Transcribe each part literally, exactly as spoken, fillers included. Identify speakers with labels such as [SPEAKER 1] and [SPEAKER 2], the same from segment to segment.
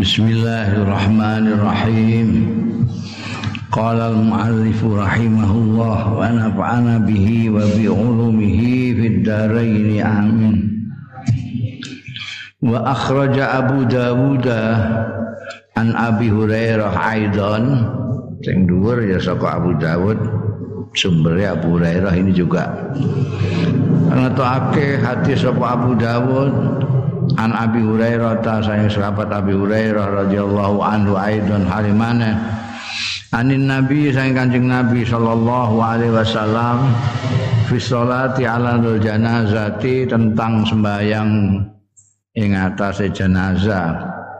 [SPEAKER 1] Bismillahirrahmanirrahim. Qala al-mu'allif rahimahullah wa nafa'ana bihi wa bi ulumihi fid dharain amin. Wa akhraja Abu Dawud an Abi Hurairah aidan, sing dhuwur ya saka Abu Dawud, sumbernya Abu Hurairah ini juga. Ngetokake hadis sapa Abu Dawud an Abi Hurairah ta sayang sahabat Abi Hurairah radhiyallahu anhu aidan halimane anin Nabi sayang Kanjeng Nabi sallallahu alaihi wasallam fi sholati ala janazati, tentang sembahyang ing atase jenazah.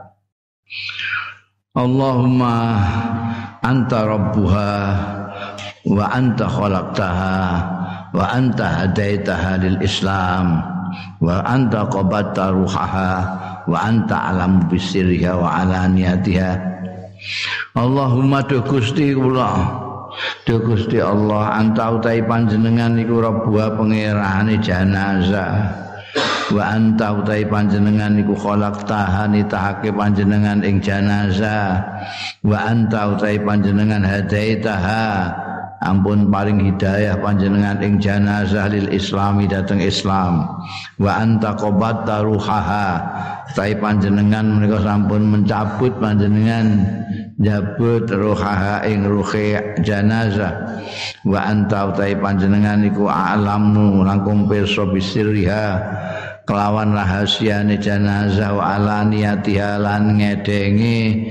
[SPEAKER 1] Allahumma anta rabbuha wa anta khalaqtaha wa anta hadaitaha lil Islam wa anta qabatta ruhaha wa anta alam bisirriha wa alaniyatiha. Allahumma tu Gusti kula, tu Gusti Allah, anta utai panjenengan iku rabbuha pangerane jenazah, wa anta utai panjenengan iku khalaqtaha nitahake panjenengan ing jenazah, wa anta utai panjenengan hadaitaha ampun paring hidayah panjenengan ing jenazah lil Islami dateng Islam, wa anta qabatta ruhaha utai panjenengan menika sampun mencabut panjenengan njabut ruhaha ing ruhe jenazah, wa anta utai panjenengan iku alamu langkung pirsa bisirriha kelawan rahasiane jenazah wa alaniyatiha lan ngedengi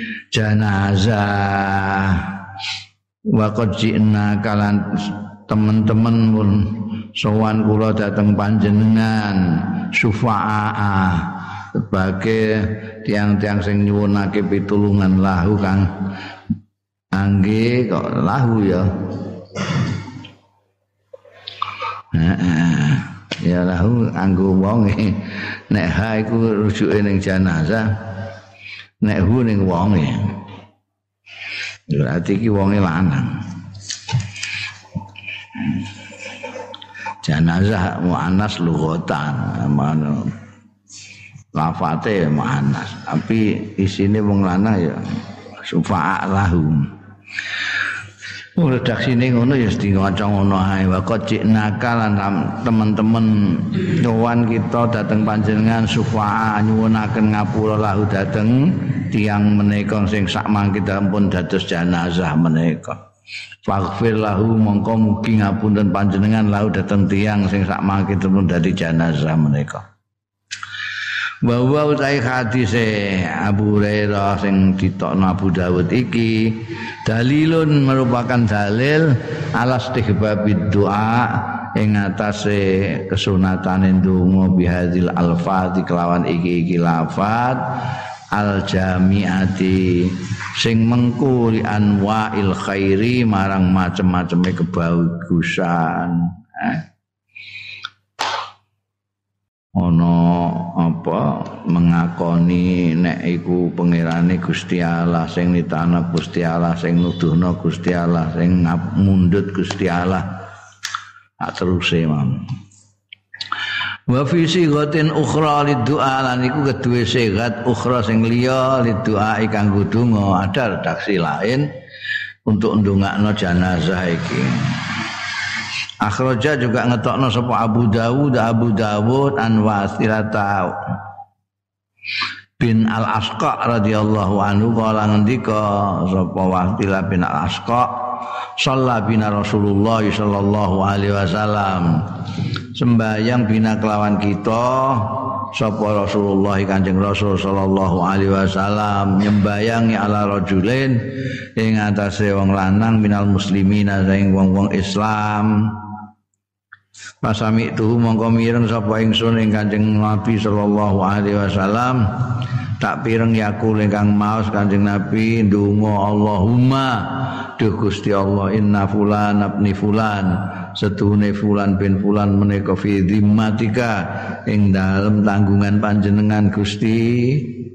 [SPEAKER 1] jenazah. Wa qad ji'na kalan teman-teman pun sowan kula dateng panjenengan syufa'a sebagai tiang-tiang sing nyuwunake pitulungan lahu kang angge kok lahu ya. Heeh. Ya lahu anggo wonge. Nek ha iku rujuke ning jenazah, nek hu ning wonge. Berarti iki wonge lanang. Jenazah muannas lughatan, mano lafate muannas, tapi isine wong lanang ya sufa'a lahum. Oh, redaksine ngono ya mesti ngaca ngono ae. Wa qacina kalan teman-teman nyuwun kita dateng panjenengan sufa'a nyuwunaken ngapura lahu dateng tiyang menika sing sak mangke pun dados jenazah menika. Faghfir lahu mongko mugi ngapunten panjenengan lahu dateng tiyang sing sak mangke pun dadi jenazah menika. Bahwa utai hadise Abu Hurairah sing ditokno Abu Dawud iki dalilun merupakan dalil ala istihbabid doa ing atase kesunatane ndonga bihadzil alfaz kelawan iki-iki lafaz al jami'ati sing mengku li anwa'il khairi marang macem-maceme kebagusan. eh. Ono apa mengakoni nek iku pangerane Gusti Allah, sing nitana Gusti Allah, sing nuduhna Gusti Allah, sing mundhut Gusti Allah. Tak teruse mam. Wa fi sighatin ukhra liddu'a, lan iku kedue sigat ukhra sing liya liddu'a kanggo donga, ada redaksi lain untuk ndongakno jenazah iki. Akhraja juga ngetokno sapa Abu Dawud Abu Dawud an Wasilata bin Al-Asqa radhiyallahu anhu kala ngendika sapa Wasilah bin Al-Asqa shalla bina Rasulullah sallallahu alaihi wasallam, sembahyang bina kelawan kita sapa Rasulullah Kanjeng Rasul sallallahu alaihi wasallam nyembayangi ala rajulin ing atase wong lanang minal muslimina saing wong-wong Islam. Pasami tuh mongko mireng sapa ingsun ing Kanjeng Nabi sallallahu alaihi wasallam, tak pireng yakul ingkang maos Kanjeng Nabi ndonga Allahumma duh Gusti Allah inna fulan abni fulan setuhune fulan bin fulan menika fi dhimmatika ing dalem tanggungan panjenengan Gusti,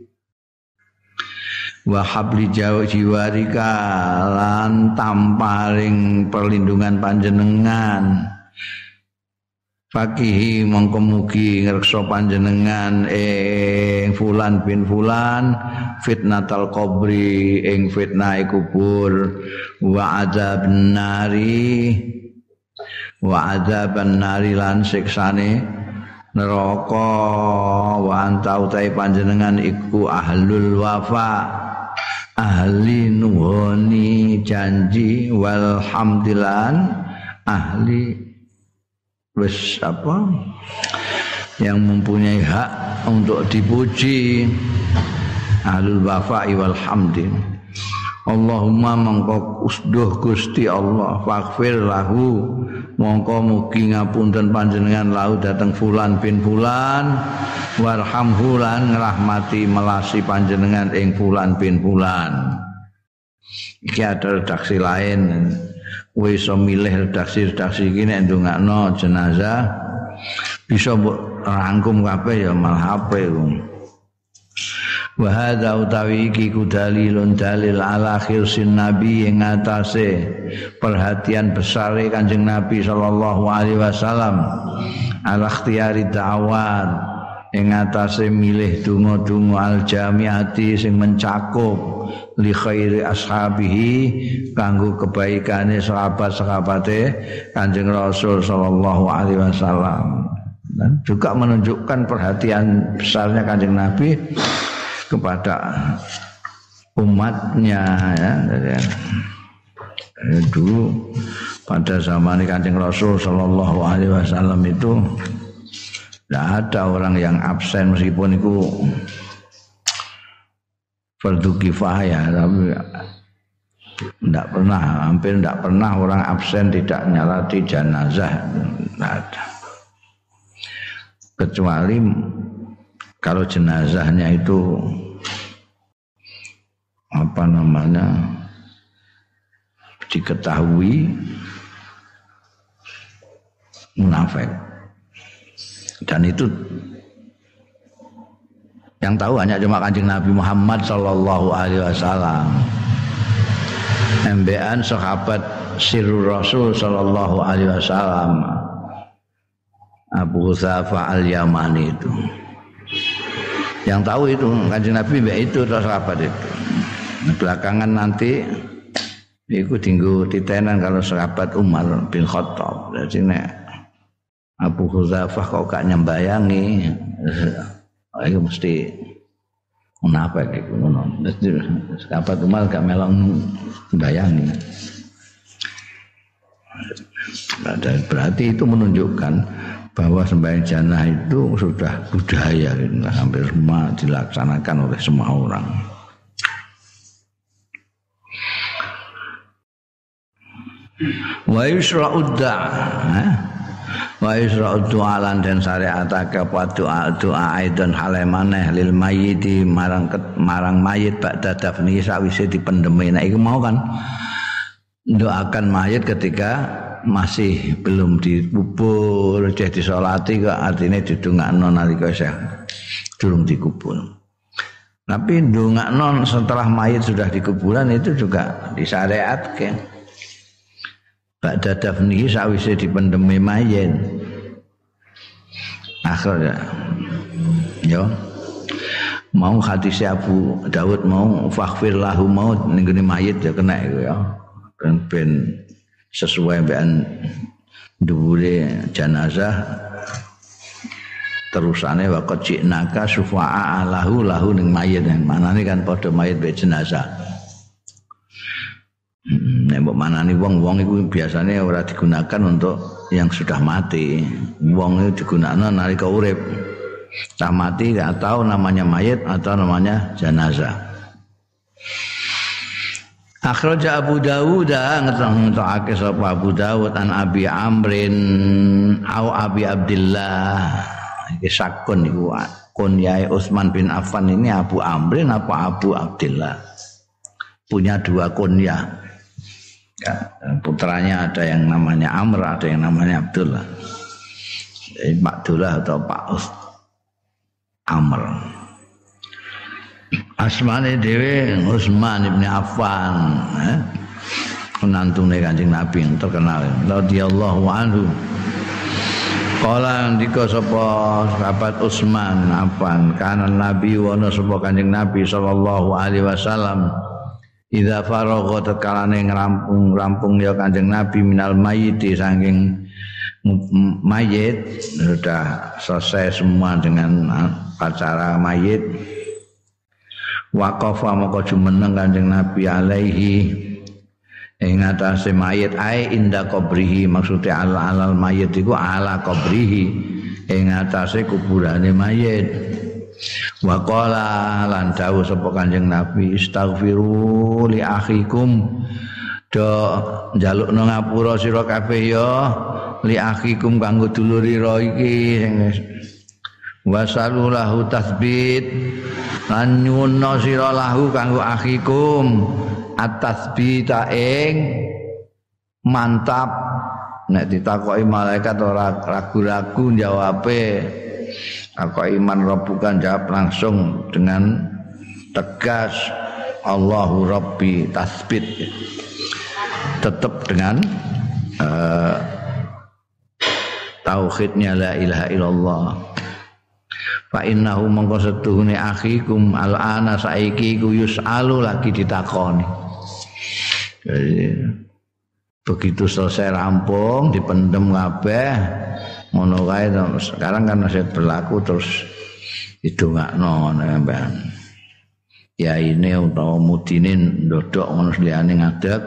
[SPEAKER 1] wa habli jiwarika lan tamparing perlindungan panjenengan, fakihi mongko mugi ngreksa panjenengan ing fulan bin fulan fitnatal qabri ing fitnah kubur wa adzabun nari wa adzaban nari lan siksane neraka wa anta utai panjenengan iku ahlul wafa ahli nuhoni janji walhamdulillah ahli wis apa yang mempunyai hak untuk dipuji ahlul wafa'i wal hamdi. Allahumma mongko usduh Gusti Allah faghfir lahu mongko mugi ngapunten panjenengan lahu dateng fulan bin fulan warhamhu lan ngrahmati melasi panjenengan ing fulan bin fulan. Iki ada redaksi lain wis iso milih redaksi-redaksi iki nek ndongakno jenazah bisa mbok rangkum kabeh ya mal H P ku. Wa hadza utawi iki dalilun dalil ala khirsin nabi ing atase perhatian besare Kanjeng Nabi sallallahu alaihi wasallam ala ikhtiyari da'awat ing atase milih donga-donga al jamiati sing mencakup li khairi ashabihi kanggo kebaikane sahabat-sahabate Kanjeng Rasul sallallahu alaihi wasallam dan juga menunjukkan perhatian besarnya Kanjeng Nabi kepada umatnya ya. Jadi, dulu pada zaman Kanjeng Rasul sallallahu alaihi wasallam itu tidak ada orang yang absen meskipun itu fardu kifayah, tapi tidak pernah, hampir tidak pernah orang absen tidak nyalati jenazah, tidak ada. Kecuali kalau jenazahnya itu apa namanya diketahui munafik. Dan itu yang tahu hanya cuma Kanjeng Nabi Muhammad sallallahu alaihi wasallam. M B N sahabat Sirrul Rasul sallallahu alaihi wasallam Abu Hudzafah Al-Yamani itu. Yang tahu itu Kanjeng Nabi mbek itu sahabat itu. Belakangan nanti iku dinggo titenan kalau sahabat Umar bin Khattab. Jadi nek Abu Hudzafah kok gak nyembayangi itu mesti munafik iku ngono. Sahabat Umar gak melong mbayangi. Berarti itu menunjukkan bahwa sembahyang jenazah itu sudah budaya, hampir semua dilaksanakan oleh semua orang. Wa yusra'ud da'a wa yusra'ud du'a lan den syariatake apa doa doa aidan halemaneh lil mayyiti marang marang mayit ba'da dafni sawise dipendemi. Nek iku mau kan doakan mayit ketika masih belum dikubur, jadi disolati kok artinya didongakno nalika isih durung dikubur. Tapi ndongakno setelah mayit sudah dikuburan itu juga disyariatke. Ba'da dafnihi sawise dipendemi mayit. Akhirnya yo mau hadis Abu Dawud mau faghfir lahu mau ning gone mayit ya kena iku ya. Ben ben sesuai dengan dhuwure jenazah terusane waqad jinaka sufa'a lahu lahu ning mayit manane kan padha mayit be jenazah. Nek mbok manani wong-wong iku biasanya ora digunakan untuk yang sudah mati. Wong itu digunakan nalika urip. Cah mati enggak tahu namanya mayit atau namanya jenazah. Akhraja Abu Dawud ngetokake sapa Abu Dawud an Abi Amrin au Abi Abdillah. Iki sakun iku kunyae Utsman bin Affan ini Abu Amrin apa Abu Abdillah. Punya dua kunyah. Ya, putranya ada yang namanya Amr, ada yang namanya Abdullah. Jadi Pak Abdullah atau Pak Us Amr. Asmane dhewe Utsman bin Affan, eh? Menantune Kanjeng Nabi yang terkenal radhiyallahu anhu. Kala ndika sapa sahabat Utsman Affan kana Nabi wa sapa Kanjeng Nabi sallallahu alaihi wasallam idza faragha takalane ngrampung-rampung ya Kanjeng Nabi minal mayyiti saking mayit sudah selesai semua dengan acara mayit waqafa maka jumeneng Kanjeng Nabi alaihi ing atase mayit ae inda qabrihi maksude ala alal mayit iku ala qabrihi ing atase kuburane mayit wa qala lan dawuh sapa Kanjeng Nabi istaghfiru li akhikum do njalukno ngapura sira kabeh ya li akhikum kanggo dulurira iki wasalulahu tasbit lan nyuwun sira lahu kanggo akhikum at-tasbita ing mantap nek ditakoki malaikat ora ragu-ragu jawabe kok iman rabbukan jawab langsung dengan tegas Allahu Rabbi tasbit tetap dengan uh, tauhidnya la ilaha illallah fa innahu mangko setuhune akhikum al-ana saiki ku yusalu lagi ditakoni. Jadi begitu selesai rampung dipendem kabeh ngono kae sekarang kan masih berlaku terus didongakno sampean. Ya ini utawa mudine ndodok ngono liyane ngadeg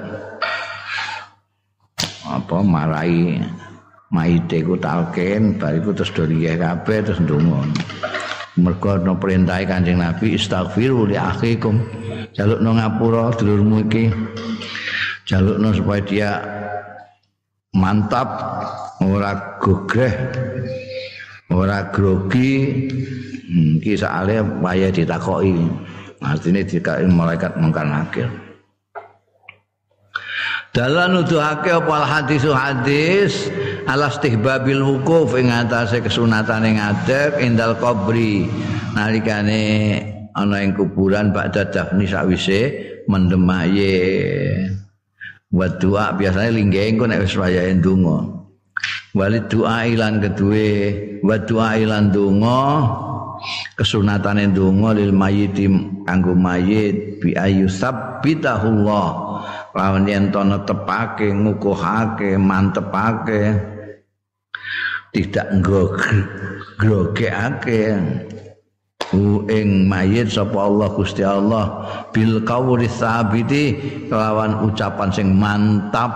[SPEAKER 1] apa marai maite ku talken bariku terus doriye kabeh terus ndonga. Mergo ana perintahe Kanjeng Nabi istaghfiru li akhikum jalukno ngapura dulurmu iki jalukno supaya dia mantap ora gogreh ora grogi iki sakale waya ditakoki artine dikae malaikat mungkar nakir dalan nuduhake apa hadis hadis alastihbabil wukuf ing atase kesunatane ngadeg indal qabri nalikane ana ing kuburan ba'da dafni sakwise mendem mayit wa doa biasane lingge engko nek wis wayahe ndonga walid doa ilan keduwe wa doa ilan ndonga kesunatane ndonga lil mayyit kanggo mayit bi ayu sabbitahullah lawan yen to netepake ngukuhake mantepake tidak ngrogekake ing mayit sapa Allah Gusti Allah bil qawli tsabiti kelawan ucapan sing mantap.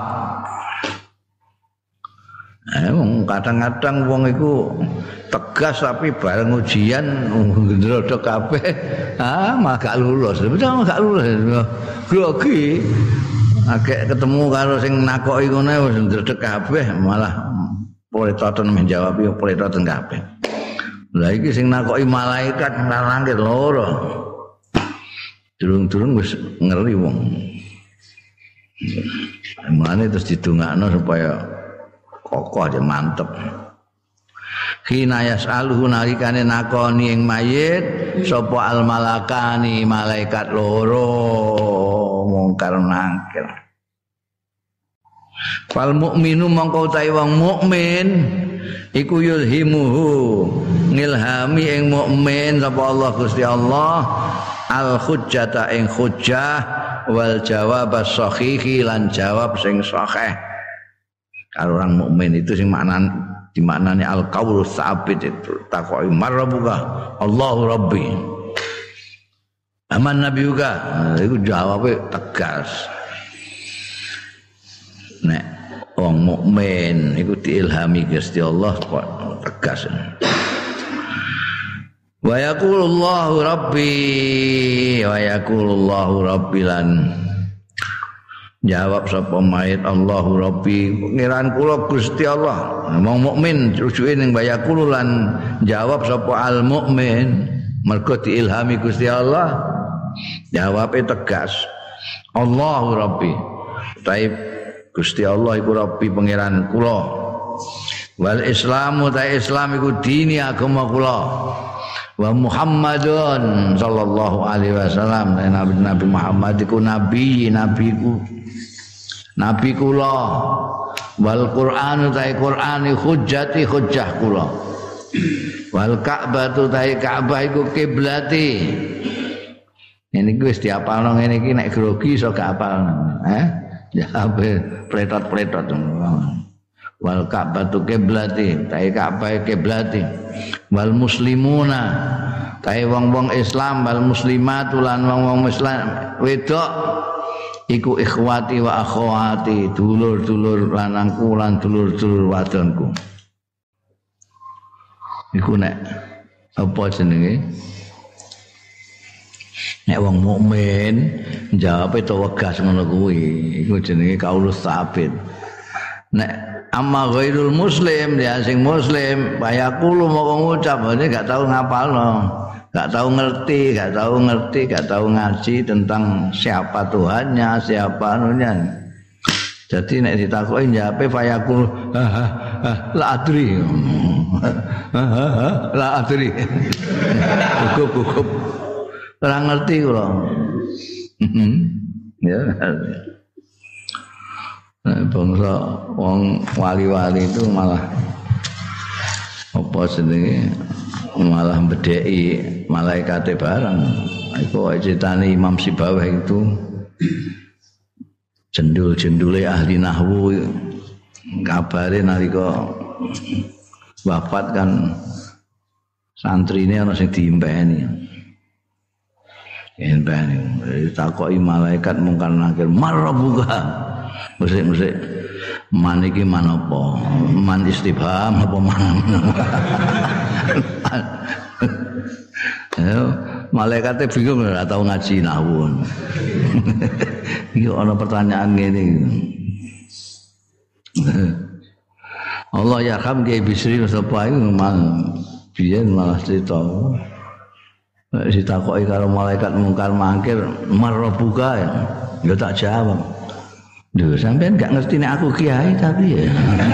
[SPEAKER 1] Eh kadang-kadang wong iku tegas tapi bareng ujian ndrodok kabeh ah malah gak lulus. Betul gak lulus. Grogi akeh ketemu karo sing nakoki ngono wis ndredeg kabeh malah poletoten menjawab yo poletoten kabeh. Lah iki sing nakoki malaikat nang langit loro. Durung-durung wis ngeri wong. Mulane terus didongakno supaya kokoh aja mantep. Khina yasaluhu nalikane nakoni ing mayit sapa al malakani malaikat loro mungkar nakir. Fal mukminu mongko utahe wong mukmin iku yulhimuhu ngilhami ing mukmin sapa Allah Gusti Allah al hujjata ing hujjah wal jawab as-sahihi lan jawab sing sahih. Kalau orang mukmin itu sing maknan dimaknani al qaulu tsabit itu takoki marabbuka Allahu Rabbi. Aman Nabi juga itu jawabnya tegas. Nek wong mukmin iku diilhami Gusti Allah kok tegas. Wa yaqulullahu Rabbi wa yaqulullahu Rabbi lan jawab sapa mayit Allahu Rabbi pengiran kula Gusti Allah. Wong mukmin rujuke ning bayakul lan jawab sapa al mukmin mergo diilhami Gusti Allah jawabe tegas Allahu Rabbi. Taib Gusti Allah iku Rabbi pengiran kula. Wal Islamu ta Islam iku dini agama kula. Wa Muhammadun sallallahu alaihi wasallam Nabi Nabi Muhammad iku nabi nabiku nabi kula wal Qur'anu ta'i Qur'ani hujjati hujjah kula wal Ka'batu ta'i Ka'bah iku kiblati. Ini wis diapalno ngene iki nek grogi iso gak apalno eh ya pletot-pletot wal Ka'batu kiblati ta'i Ka'bah kiblati wal muslimuna ta'i wong-wong Islam wal muslimatu lan wong-wong Islam wedok iku ikhwati wa akhwati dulur-dulur lanangku lan dulur-dulur wadonku. Iku nek apa jenenge? Nek wong mukmin jawabe to wegas ngono kuwi. Iku jenenge kaulus sabit. Nek amma ghairul muslim ya sing muslim bayakulu mau ngucap ini gak tahu ngapalno. Gak tahu ngerti, gak tahu ngerti, gak tahu ngaji tentang siapa Tuhannya, siapa anunya. Jadi nek ditakoki njape fayakul la adri. La adri. Gugup-gugup. Ora ngerti kula. Ya. Bangsa wong wali-wali itu malah apa jenenge malah bedheki malaikate barang. Iku ceritane Imam Sibawah itu jendul-jendule ahli nahwu kabare nalika wafat kan santrine ana sing diimpeni. Diimpeni ditakoki malaikat mungkar nakir marabuka. Musik-musik man iki man apa? Man istifham apa man? Ya, malaikate bingung ora tau ngaji nahwu. Iki ana pertanyaan ngene. Allah yarham Kiai Bisri sapa iku biyen malah cerita. Ditakoki karo malaikat mungkar mangkir marbuka ya. Ya tak jawab. Lho sampean gak ngerti nek aku kiai tapi ya.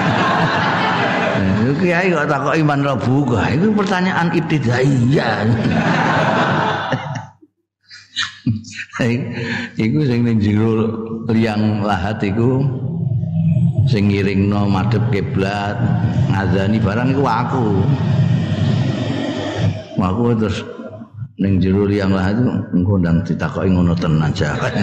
[SPEAKER 1] Nah, kiai kok takoki man rabbuka. Itu pertanyaan ibtidaiyah. Iku sing ning jero liang lahat iku sing ngiringno madhep kiblat, ngazani barang iku aku. Aku terus ning jero liang lahat iku engko ndang ditakoki ngono tenan jawab.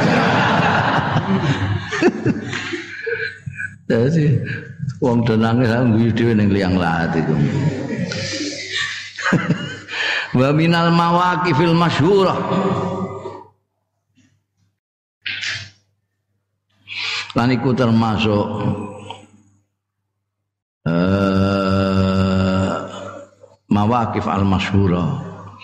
[SPEAKER 1] Jadi wong denange sak guyu dhewe ning liang lahat iku. Wa minal mawaqifil masyhurah. Lan iku termasuk eh mawaqif al masyhurah.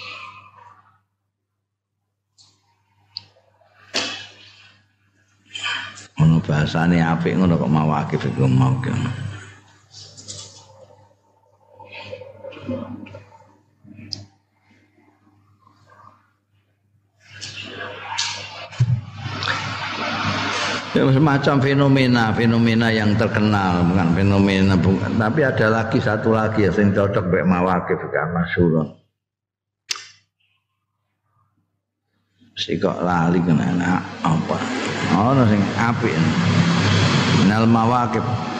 [SPEAKER 1] Ono bahasane apik ngono kok mawaqif iku mau. Ya, semacam fenomena, fenomena yang terkenal, bukan fenomena bukan, tapi ada lagi satu lagi yang cocok mek mawaqif kan masyhur. Mesti kok lali kena apa? Ono sing apik. Minal mawaqif.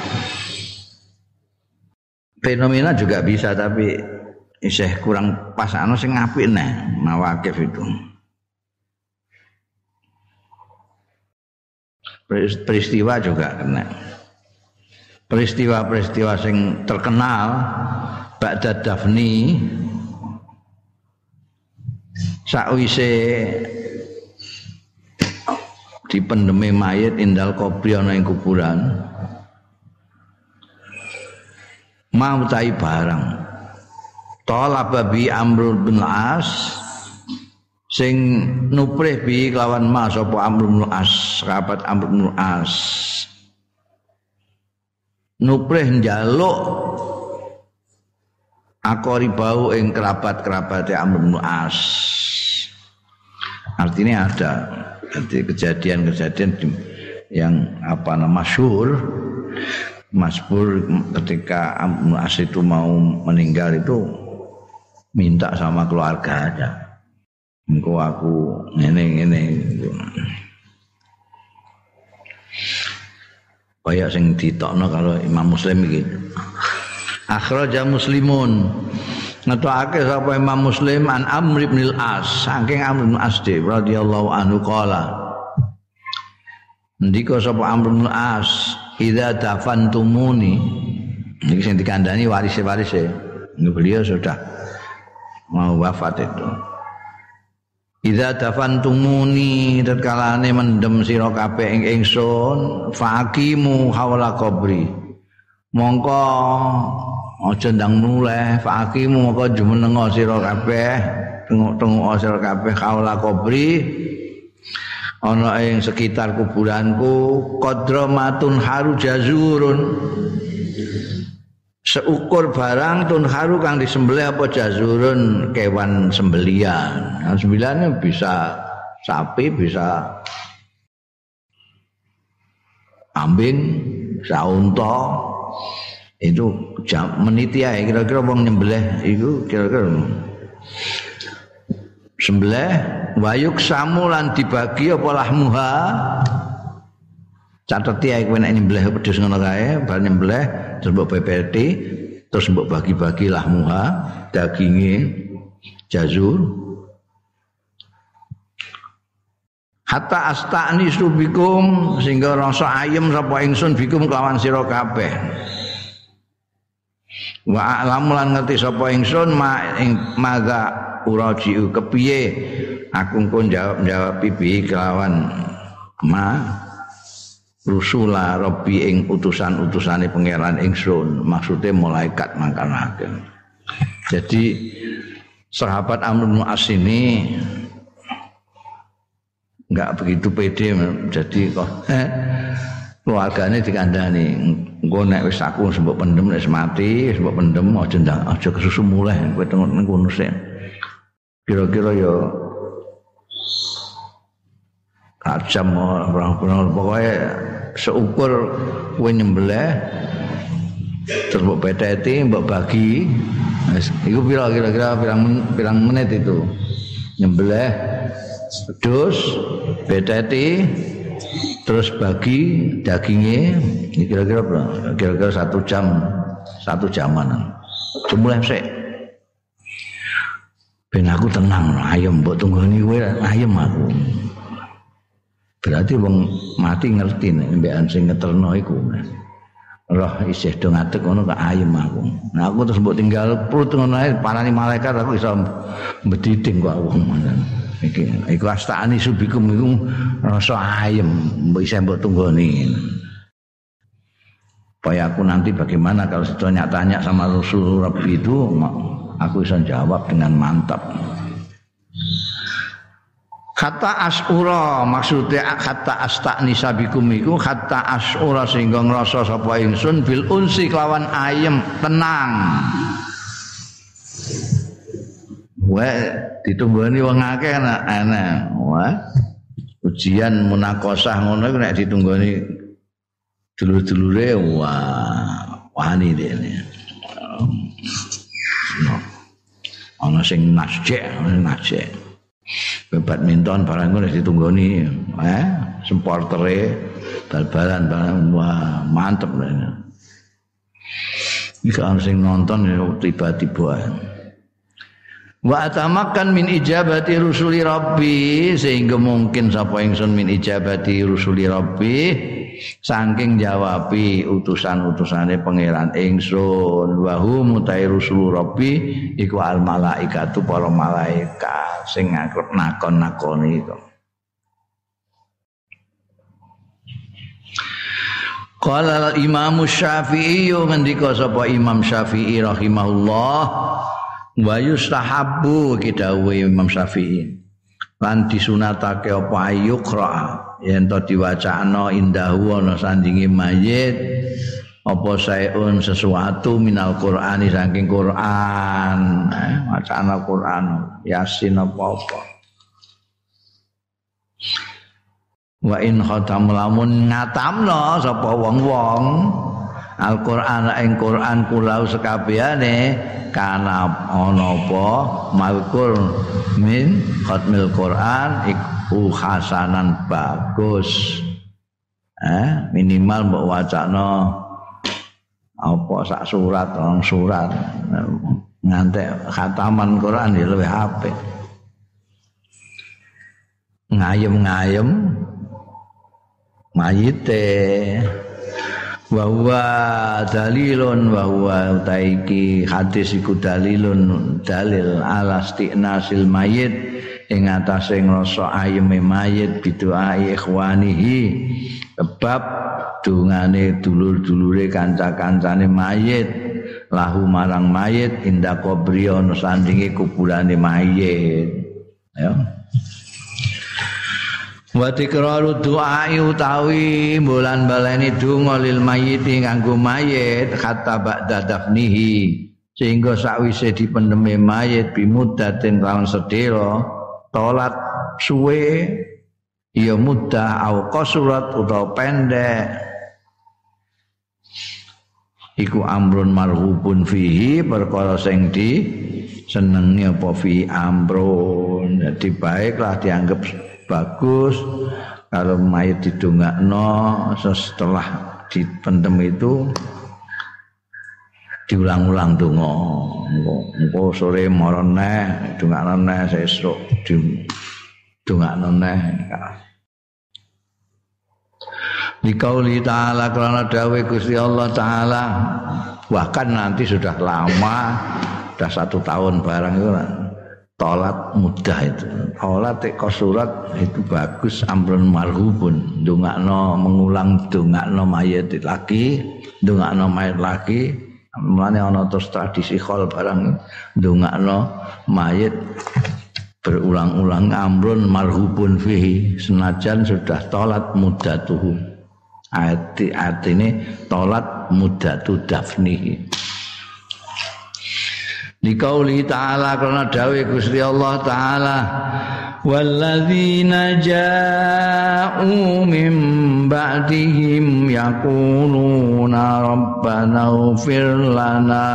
[SPEAKER 1] Fenomena juga bisa tapi isih kurang pas ono sing apik neh mawaqif itu. Peristiwa juga kena. Peristiwa-peristiwa sing terkenal ba'da dafni sakwise dipendeme mayit indal kubri ana ing kuburan mau tai barang talaba bi Amr bin As sing nuprih bi kelawan mas apa Amr bin As sahabat Amr bin As nuprih njaluk akori bau ing kerabat-kerabate Amr bin As. Artinya ada jadi kejadian-kejadian yang apa nama masyhur masyhur ketika Amr bin As itu mau meninggal itu minta sama keluarganya. Engkau aku ngene-ngene. kaya sing ditokno kalau Imam Muslim iki. Akhraja Muslimun ngetokake sapa Imam Muslim an Amr bin al-As saking Amr bin al-As radhiyallahu anhu qala ndika sapa Amr bin al-As idza dafantumuni niki sing dikandani waris-warise beliau sudah mau wafat itu. Idza dafantumuni tatkalane mendem sira kabeh ing ingsun faqimu haula qabri mongko aja ndang muleh faqimu mongko jumenenga sira kabeh tengok-tengok sira kabeh haula qabri ana ing sekitar kuburanku qadramatun haru jazurun seukur barang tun haru kang disembelih apa jazurun kewan sembelian. Nah, sembeliannya bisa sapi, bisa kambing, bisa unta. Itu jam meniti ae kira-kira wong nyembelih iku kira-kira sembelih wayuk samulan dibagi apa lahmuha. Cateti ae kowe nek nyembelih wedhus ngono kae, bar nyembelih terus mbok pepeti, terus mbok bagi-bagi lahmuha, daginge jazur. Hatta astani subikum sehingga rasa ayem sapa ingsun bikum kelawan sira kabeh. Wa a'lamu lan ngerti sapa ingsun ma ing maza urajiu kepiye aku pun jawab-jawab pipi kelawan ma rusula rabbi ing utusan-utusane pangeran ingsun maksudnya malaikat mangkanaken. Jadi sahabat Amr bin As ini enggak begitu pede jadi kok eh, keluargane dikandani engko nek wis aku mbok pendem nek mati mbok pendem aja ndang aja kesusu muleh kowe tengok nang kono sik. Kira-kira ya kacam orang-orang pokoknya seukur kowe nyembelih terus mbok peteti mbok bagi iku pira kira-kira pirang pirang menit itu nyembelih wedhus peteti terus bagi dagingnya kira-kira kira-kira satu jam satu jaman jumlah sik ben aku tenang ayem mbok tunggoni kowe ayem aku. Berarti wong mati ngerti nek mbekan sing ngeterno iku. Roh isih do ngadeg ngono kok ayem aku. Nah aku terus mbok tinggal prut ngono ae parani malaikat aku iso mbediding kok wong ngono. Iki iku astani subikum iku rasa ayem mbok isih mbok tunggoni. Supaya aku nanti bagaimana kalau ditanya tanya sama Rasul Rabbi itu aku bisa jawab dengan mantap. Kata asura maksudnya kata astani sabikum iku kata asura sehingga ngrasa sapa ingsun bil unsi kelawan ayem tenang. Wae ditunggoni wong akeh ana. Wah. Ujian munakosah ngono iku nek ditunggoni dulur-dulure wah wani dene. Ana sing nasjek, nasjek. Badminton barang ngono ditunggoni, eh supportere bal-balan barang wah mantep lho. Iki kan sing nonton tiba-tiba. Wa atamakan min ijabati rusuli rabbi sehingga mungkin sapa ingsun min ijabati rusuli rabbi saking jawabi utusan-utusane pangeran ingsun wa hum mutai rusul rabbi iku al malaikatu para malaikat sing ngakrep nakon-nakoni iku. Qala al Imam Syafi'i ngendika sapa Imam Syafi'i rahimahullah wa yustahabbu kidawe Imam Syafi'i lan disunatake apa ayuqra yen to diwacana indahu ana sandinge mayit apa saeun sesuatu minal Qur'ani saking Qur'an eh, wacana Qur'an Yasin apa-apa wa in khatam lamun ngatamno sapa wong-wong Al-Qur'an ing Qur'an kulau sekabehane kana ana apa malkur min khatmil Qur'an iku hasanan bagus Eh, minimal mbok wacana apa sak surat, orang surat ngantek khataman Quran ya luwih apik. Ngayem-ngayem mayite wa huwa dalilun wa huwa utaiki hadis iku dalilun dalil ala istinasil mayit ing atase ngrasa ayeme mayit biduai ikhwanihi sebab dungane dulur-dulure kanca-kancane mayit lahu marang mayit inda qabri ana sandinge kuburane mayit ya. Wa tikraru du'a utawi bulan baleni donga lil mayyiti nganggo mayit hatta ba'da dafnihi sehingga sakwise dipendeme mayit bimudatin lawan sedera tolat suwe ya mudah au qasurat utawa pendek iku amrun marhubun fihi perkara sing di senengi apa fi amrun jadi baiklah dianggap bagus kalau mayit didongakno setelah dipendem itu diulang-ulang donga engko sore mara neh dongakno neh sesuk dongakno neh Dikauli ta'ala karena dawe Gusti Allah Ta'ala bahkan nanti sudah lama sudah satu tahun barang itu tolat mudah itu tolat kosurat itu bagus amrun marhubun dongakno mengulang dongakno mayit lagi dongakno mayit lagi mulane ana terus tradisi khol barang dongakno mayit berulang-ulang amrun marhubun fihi senajan sudah tolat mudatuhu arti artine tolat mudatu dafnihi Dikauli ta'ala karena dawe Gusti Allah ta'ala walladzina ja'u min ba'dihim yaquluna rabbana ighfir lana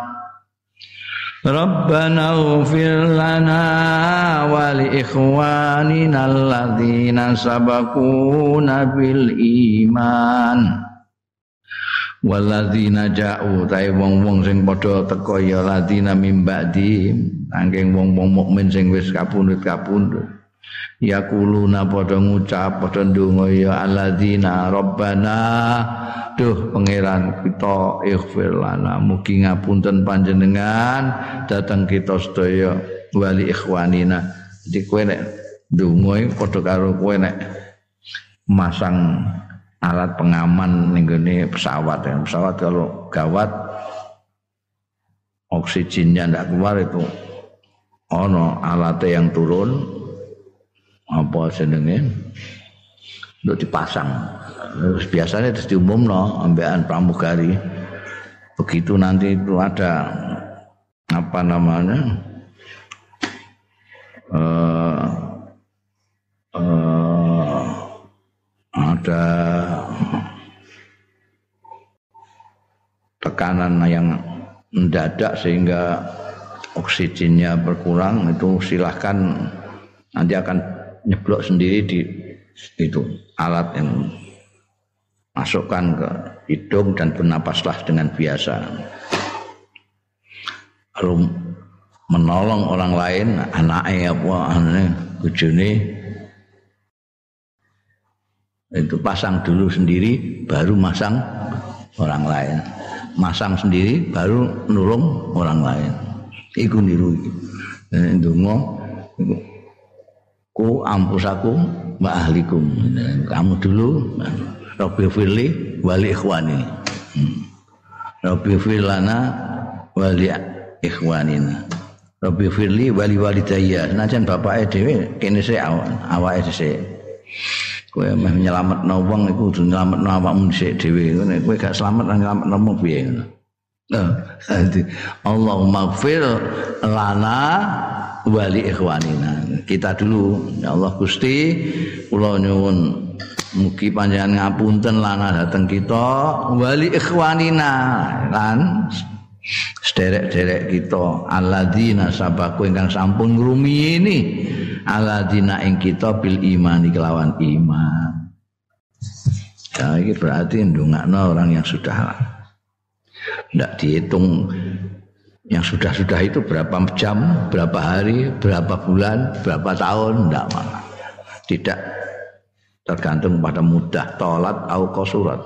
[SPEAKER 1] Rabbana ighfir lana wa li ikhwanina alladzina sabaquna bil iman Waladzina ja'u ta'i wong-wong sing padha teka ya ladina mim ba'di angking wong-wong mukmin sing wis kapundhut-kapundhut yaquluna padha ngucap padha ndonga ya alladzina rabbana duh pangeran kita ighfir lana mugi ngapunten panjenengan dateng kita sedaya wali ikhwanina jadi kowe nek ndonga padha karo kowe nek masang alat pengaman ning gone pesawat ya. Pesawat kalau gawat oksigennya ndak keluar itu ono alatnya yang turun apa jenenge untuk dipasang. Terus biasanya terus diumumno ambekan pramugari. Begitu nanti itu ada apa namanya? Eh uh, ada tekanan yang mendadak sehingga oksigennya berkurang itu silahkan nanti akan nyeblok sendiri di itu alat yang masukkan ke hidung dan bernapaslah dengan biasa lalu menolong orang lain anaknya apa anaknya bojone itu pasang dulu sendiri baru masang orang lain masang sendiri baru nulung orang lain iku niru ndonga ku ampusaku wa ahlikum kamu dulu Rabbi firli wali ikhwani Rabbi firlana wali ikhwanina Rabbi firli wali walidayya senajan bapake dhewe kene sik awake dhisik kowe meh nyelametno wong iku kudu nyelametno awakmu dhisik dhewe ngene kowe gak slamet nang nyelametno wong piye ngono Allahumma ighfir lana wali ikhwanina kita dulu ya Allah Gusti kula nyuwun mugi panjenengan ngapunten lana dateng kita wali ikhwanina lan sederek-derek kita alladzina sabaku ingkang sampun ngrumiyini alladzina ing kita bil imani kelawan iman Nah, ini berarti ndongakno orang yang sudah tidak dihitung yang sudah-sudah itu berapa jam, berapa hari, berapa bulan, berapa tahun, tidak mana. Tidak tergantung pada mudah tolat atau kosurat.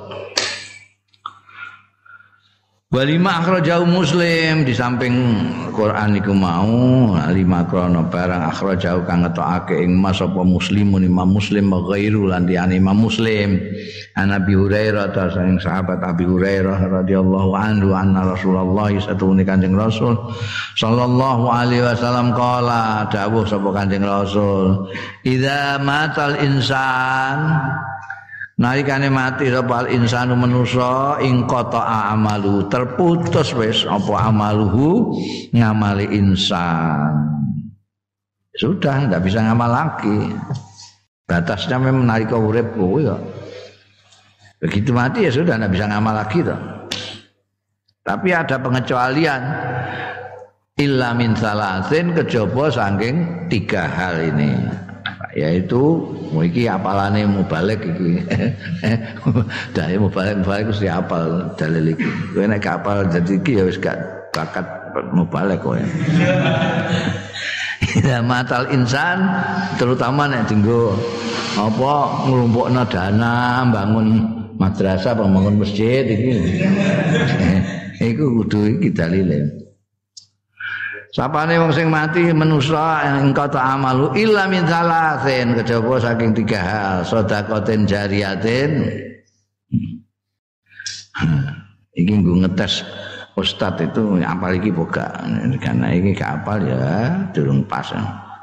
[SPEAKER 1] Walima akhrajahu Muslim di samping Quran iku mau lima krono barang akhrajahu kang ngetokake ing mas apa Muslimun Imam Muslim wa ghairu lan liyane Imam Muslim an Abi Hurairah ta saking sahabat Abi Hurairah radhiyallahu anhu anna Rasulullah satune Kanjeng Rasul sallallahu alaihi wasallam qala dawuh sapa Kanjeng Rasul idza matal insan nalikane mati sapa insanu manusa ing qata'a amalu terputus wis apa amaluhu ngamali insan sudah enggak bisa ngamal lagi batasnya memang nalika urip kuwi ya begitu mati ya sudah enggak bisa ngamal lagi toh tapi ada pengecualian illa min salasin kejaba saking tiga hal ini yaitu iki apalane mubalek iki. Dhewe mubalek mubalek wis apal dalil iki. Kowe nek apal dadi iki ya wis gak bakat mubalek kowe. Ya matal insan terutama nek dienggo apa nglumpukna dana bangun madrasah bangun masjid iki. Iku kudu iki dalile. Sapane wong sing mati manusa engkau ta amalu illa min salasin kejaba saking tiga hal sedekaten jariyatin iki nggo ngetes ustaz itu apal iki boga karena iki gak apal ya durung pas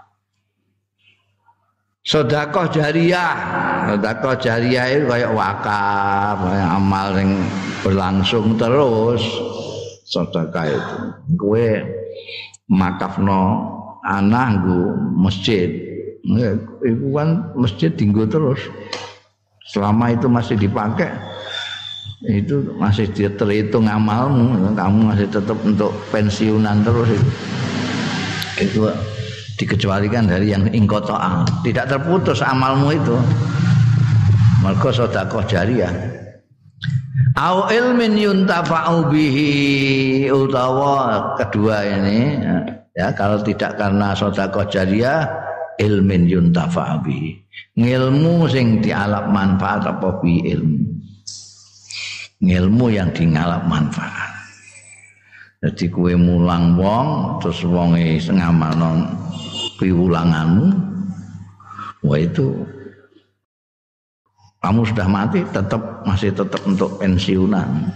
[SPEAKER 1] sedekah jariyah sedekah jariyah itu kaya wakaf kaya amal sing berlangsung terus sedekah itu kowe makafno anak nggo masjid itu kan masjid dienggo terus selama itu masih dipakai itu masih terhitung amalmu kamu masih tetap untuk pensiunan terus itu itu dikecualikan dari yang ingqata tidak terputus amalmu itu mergo sedekah jariyah au ilmin yuntafa'u bihi utawa kedua ini ya kalau tidak karena sedekah jariyah ilmin yuntafa'u bihi ngilmu sing dialap manfaat apa bi ilmu ngilmu yang dingalap manfaat jadi kowe mulang wong terus wonge ngamalno piwulanganmu wah itu kamu sudah mati tetap masih tetap untuk pensiunan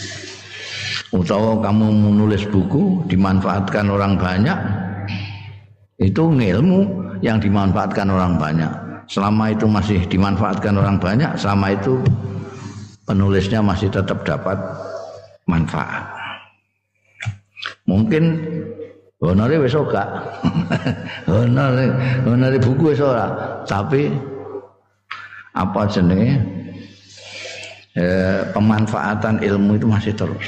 [SPEAKER 1] utawa kamu menulis buku dimanfaatkan orang banyak itu ilmu yang dimanfaatkan orang banyak selama itu masih dimanfaatkan orang banyak selama itu penulisnya masih tetap dapat manfaat mungkin honore wis ora honore honore buku wis ora tapi apa jenenge eh, pemanfaatan ilmu itu masih terus.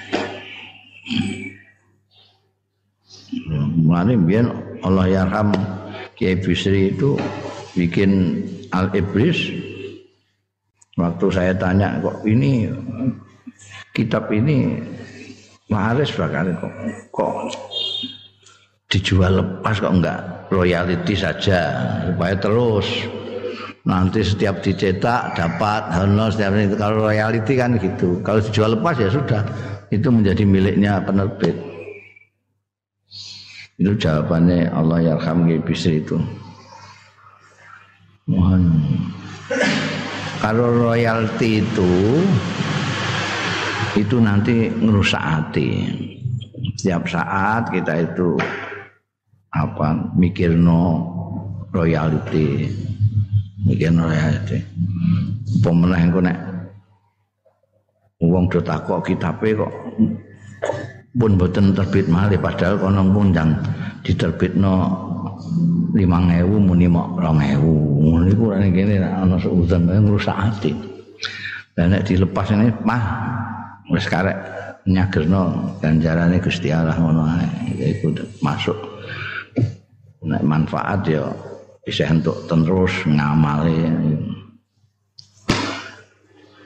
[SPEAKER 1] Mulane biyen Allah yarham Kiai Bisri itu bikin Al-Ibris. Waktu saya tanya kok ini kitab ini laris bakal kok kok dijual lepas kok enggak royalti saja supaya terus nanti setiap dicetak dapat honor setiap itu kalau royalti kan gitu kalau dijual lepas ya sudah itu menjadi miliknya penerbit itu jawabannya Allah yarham Bisri itu mohon kalau royalti itu itu nanti ngerusak hati setiap saat kita itu apa mikirno royalti mikir royalti pemenang engko nek wong do takok kitabe kok pun mboten terbit malih padahal kono pundang diterbitno lima ewu muni mok dua ewu ngono iku ora ngene ana seuzon ngrusak ati lah nek dilepas ini mah wis karek nyagerno ganjarane Gusti Allah ngono ae iku masuk nek manfaat ya bisa untuk terus ngamali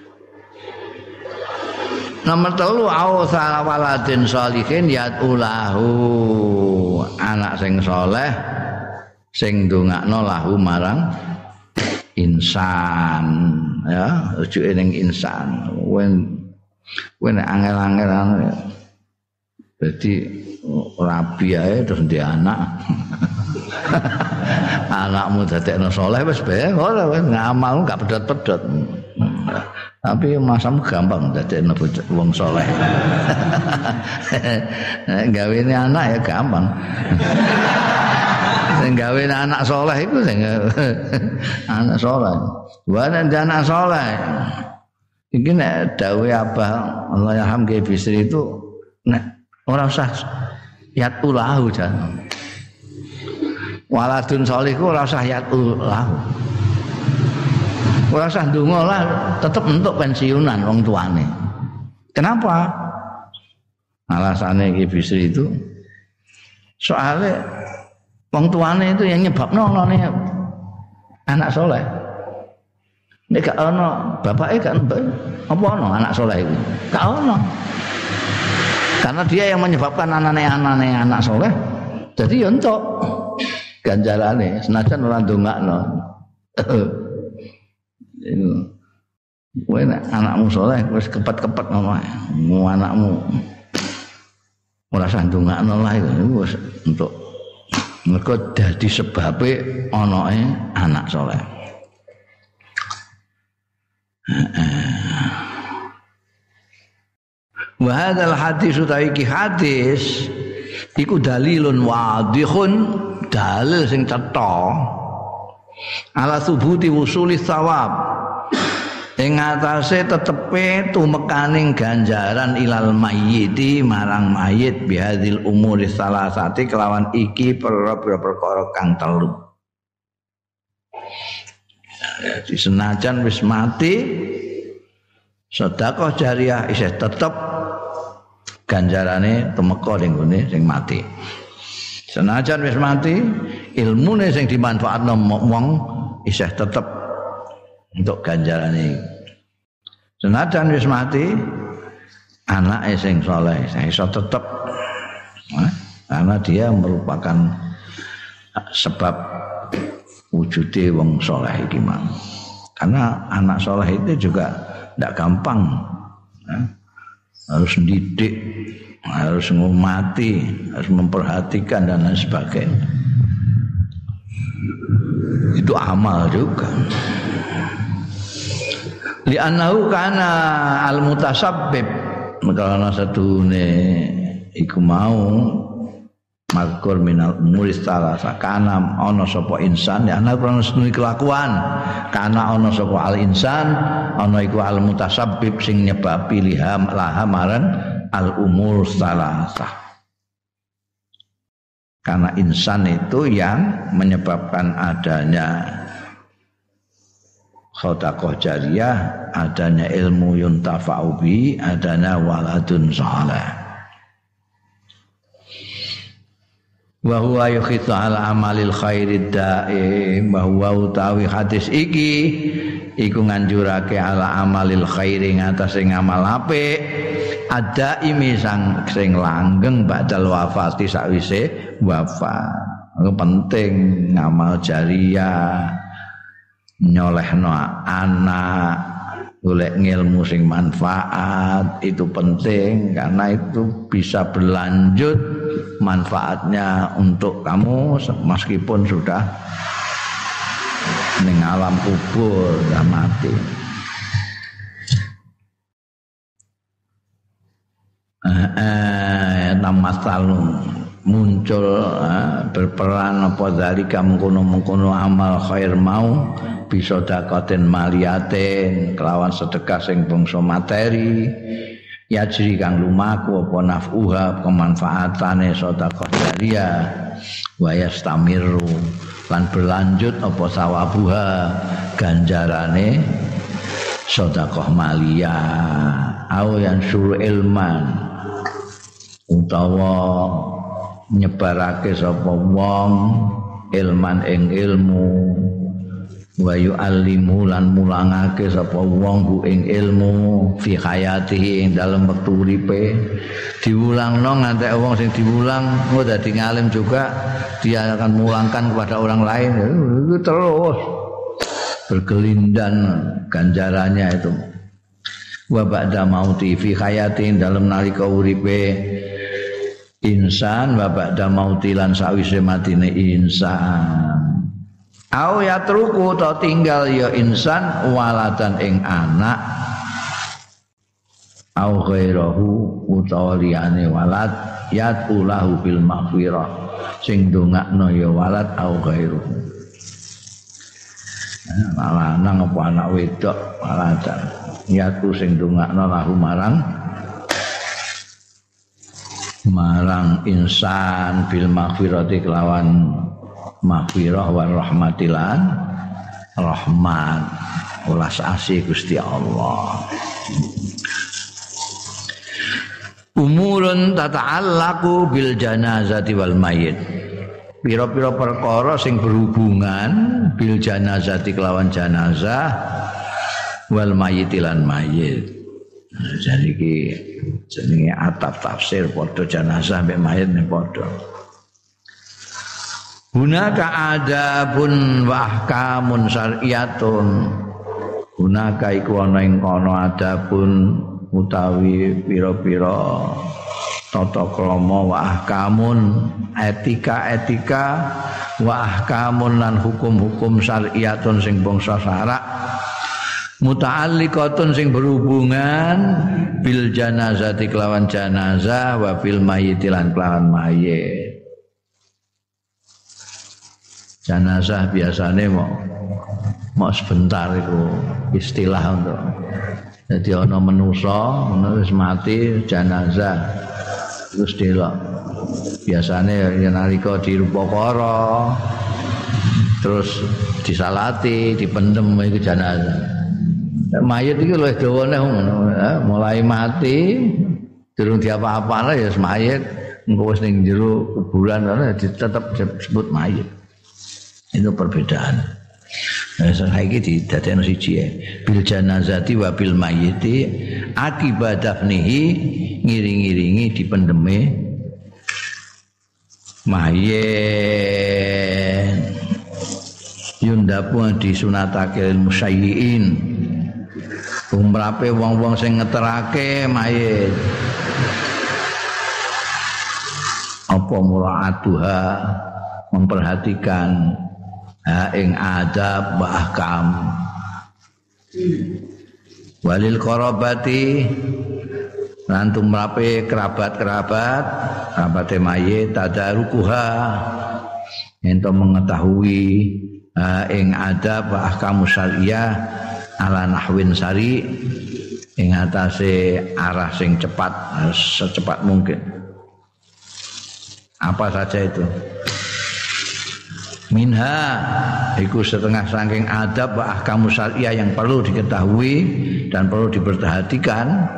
[SPEAKER 1] Nomor telu au salawaladin sholihin yatulahu anak sing saleh sing ndongakno lahu marang insan ya rujuke ning insan wen wen angel-angel dadi rabi ae terus ndek anak anakmu dadekno saleh wis bae ora wis ngamal gak pedot-pedot. Tapi masamu gampang dadekno wong saleh. Gawene anak ya gampang. Sing gawene anak saleh iku sing anak saleh. Wana anak saleh. Iki nek dawuhe Abah Allah yarham Ki Bisri itu nek ora usah yatulahu jan. Waladun sholihu ora usah yatulahu. Ora usah ndonga lah, tetep entuk pensiunan wong tuane. Kenapa? Alasannya Ki Bisri itu soalnya wong tuane itu yang nyebabno onone anak soleh. Nek gak ono bapake gak mbak, apa ono anak soleh itu? Gak ono. Karena dia yang menyebabkan anane-anane anak soleh. Jadi ya entuk ganjarane senajan ora ndongakno. Kowe anakmu saleh wis kepet-kepet ngono ae. Mu anakmu ora usah ndongakno lah iku wis entuk. Mergo dadi sebabe anake anak saleh. Wa hadzal hadis utawi iki hadis iku dalilun wadihun dalil sing cetha ala subuti wusuli thawab ing atase tetepe tumekaning ganjaran ilal mayyiti marang mayit bihadzil umuri salasati kelawan iki perkara kang telu. Jadi senajan wis mati sedekah jariah isih tetep ganjarane tumeka ning gone sing mati. Senajan wis mati ilmune sing dimanfaatno wong isih tetep untuk ganjarane. Senajan wis mati anake sing saleh iso tetep nah, karena dia merupakan sebab wujude wong saleh iki mang. Karena anak saleh itu juga tidak gampang nah, harus didik, harus ngumati, harus memperhatikan dan lain sebagainya. Itu amal juga. Li'annahu kana al-mutasabbib karena sadune iku mau makur minal muris salasa kana ana sapa insan ya ana krono sedune kelakuan kana ana sapa al insan ana iku al mutasabbib sing nyebabi liham lahamaran al umur salasa. Karena insan itu yang menyebabkan adanya sedekah jariyah, adanya ilmu yuntafa'u bi, adanya waladun saleh. Wa huwa yukhithu ala amalil khairid daim, bahwa utawi hadis iki iku nganjurake ala amalil khairi ngatasé ngamal apik ada imi sang sing langgeng badal wafati sakwise wafat. Itu penting ngamal jariyah, nyolehno anak, golek ngilmu sing manfaat itu penting karena itu bisa berlanjut manfaatnya untuk kamu meskipun sudah ning alam kubur sudah mati. Eh, eh namasalun muncul eh, berperan apa zalika mengkono-mengkono amal khair mau bisa dakoten maliatin kelawan sedekah sing bangsa materi yajri kang lumaku apa nafuha kemanfaatane sedekah jariyah wa yastamiru lan berlanjut apa sawabuha ganjarane sedekah maliyah au yang suruh ilman utawa nyebarake sapa wong ilman ing ilmu wa yu'allimu lan mulangake sapa wong ku ing ilmu fi hayatihi ing dalem wektu uripe diulangno nganti wong sing diulang oh dadi ngalim juga dia akan mulangkan kepada orang lain itu terus berkelindan ganjarannya itu wa ba'da mauti fi hayati ing dalem nalika uripe insan wa ba'da mauti lan sawise matine insan au yatruku ta tinggal ya insan waladan ing anak au ghairahu utawa liyane walad yatulahu bil maghfirah sing ndongakno ya walad au ghairuhu lanang apa anak wedok waladan yatu sing ndongakno lahu marang marang insan bil maghfirati kelawan maghfirah wa rahmatilan rahmat ulas asih Gusti Allah. Umurun tata'allaqu bil janazati wal mayyit. Pira-pira perkara sing berhubungan bil janazati kelawan janazah wal mayyit lan mayyit. Jadi iki jenenge atap tafsir padha janazah mek mayit nek padha. Hunaka adabun wa ahkamun syar'iyatun. Hunaka iku ana ing kono adabun utawi pira-pira tata krama wa ahkamun etika-etika wa ahkamun lan hukum-hukum syar'iyatun sing bangsa syarak muta'alliqatun sing berhubungan bil janazati kelawan janazah wa bil mayyit lan kelawan mayit. Janazah biasanya mau mau sebentar itu istilah untuk jadi ana manusa wis mati janazah terus delok biasanya yen nalika dirupakara terus disalati dipendem iku janazah mayit iki luwih dawane mulai mati durung diapa-apane ya mayit engko wis ning jero kuburan ana tetep disebut mayit. Itu perbedaan. Nah, saiki didadekno siji ya. Bil janazati wa bil mayyiti akibat dafnihi ngiring-ngiringi dipendeme mayit. Yundapu disunatake musayyiin. Umrape wong-wong sing ngeterake mayit. Apa mura'atuha memperhatikan ha ing adab wa ahkam walil qarabati lan tumrape kerabat-kerabat kerabate mayit tadarukuha ento mengetahui ha ing adab wa ahkam syariah ala nahwin sari ing atase arah sing cepat secepat mungkin. Apa saja itu? Minha iku setengah saking adab wa ahkamu syariah yang perlu diketahui dan perlu diperhatikan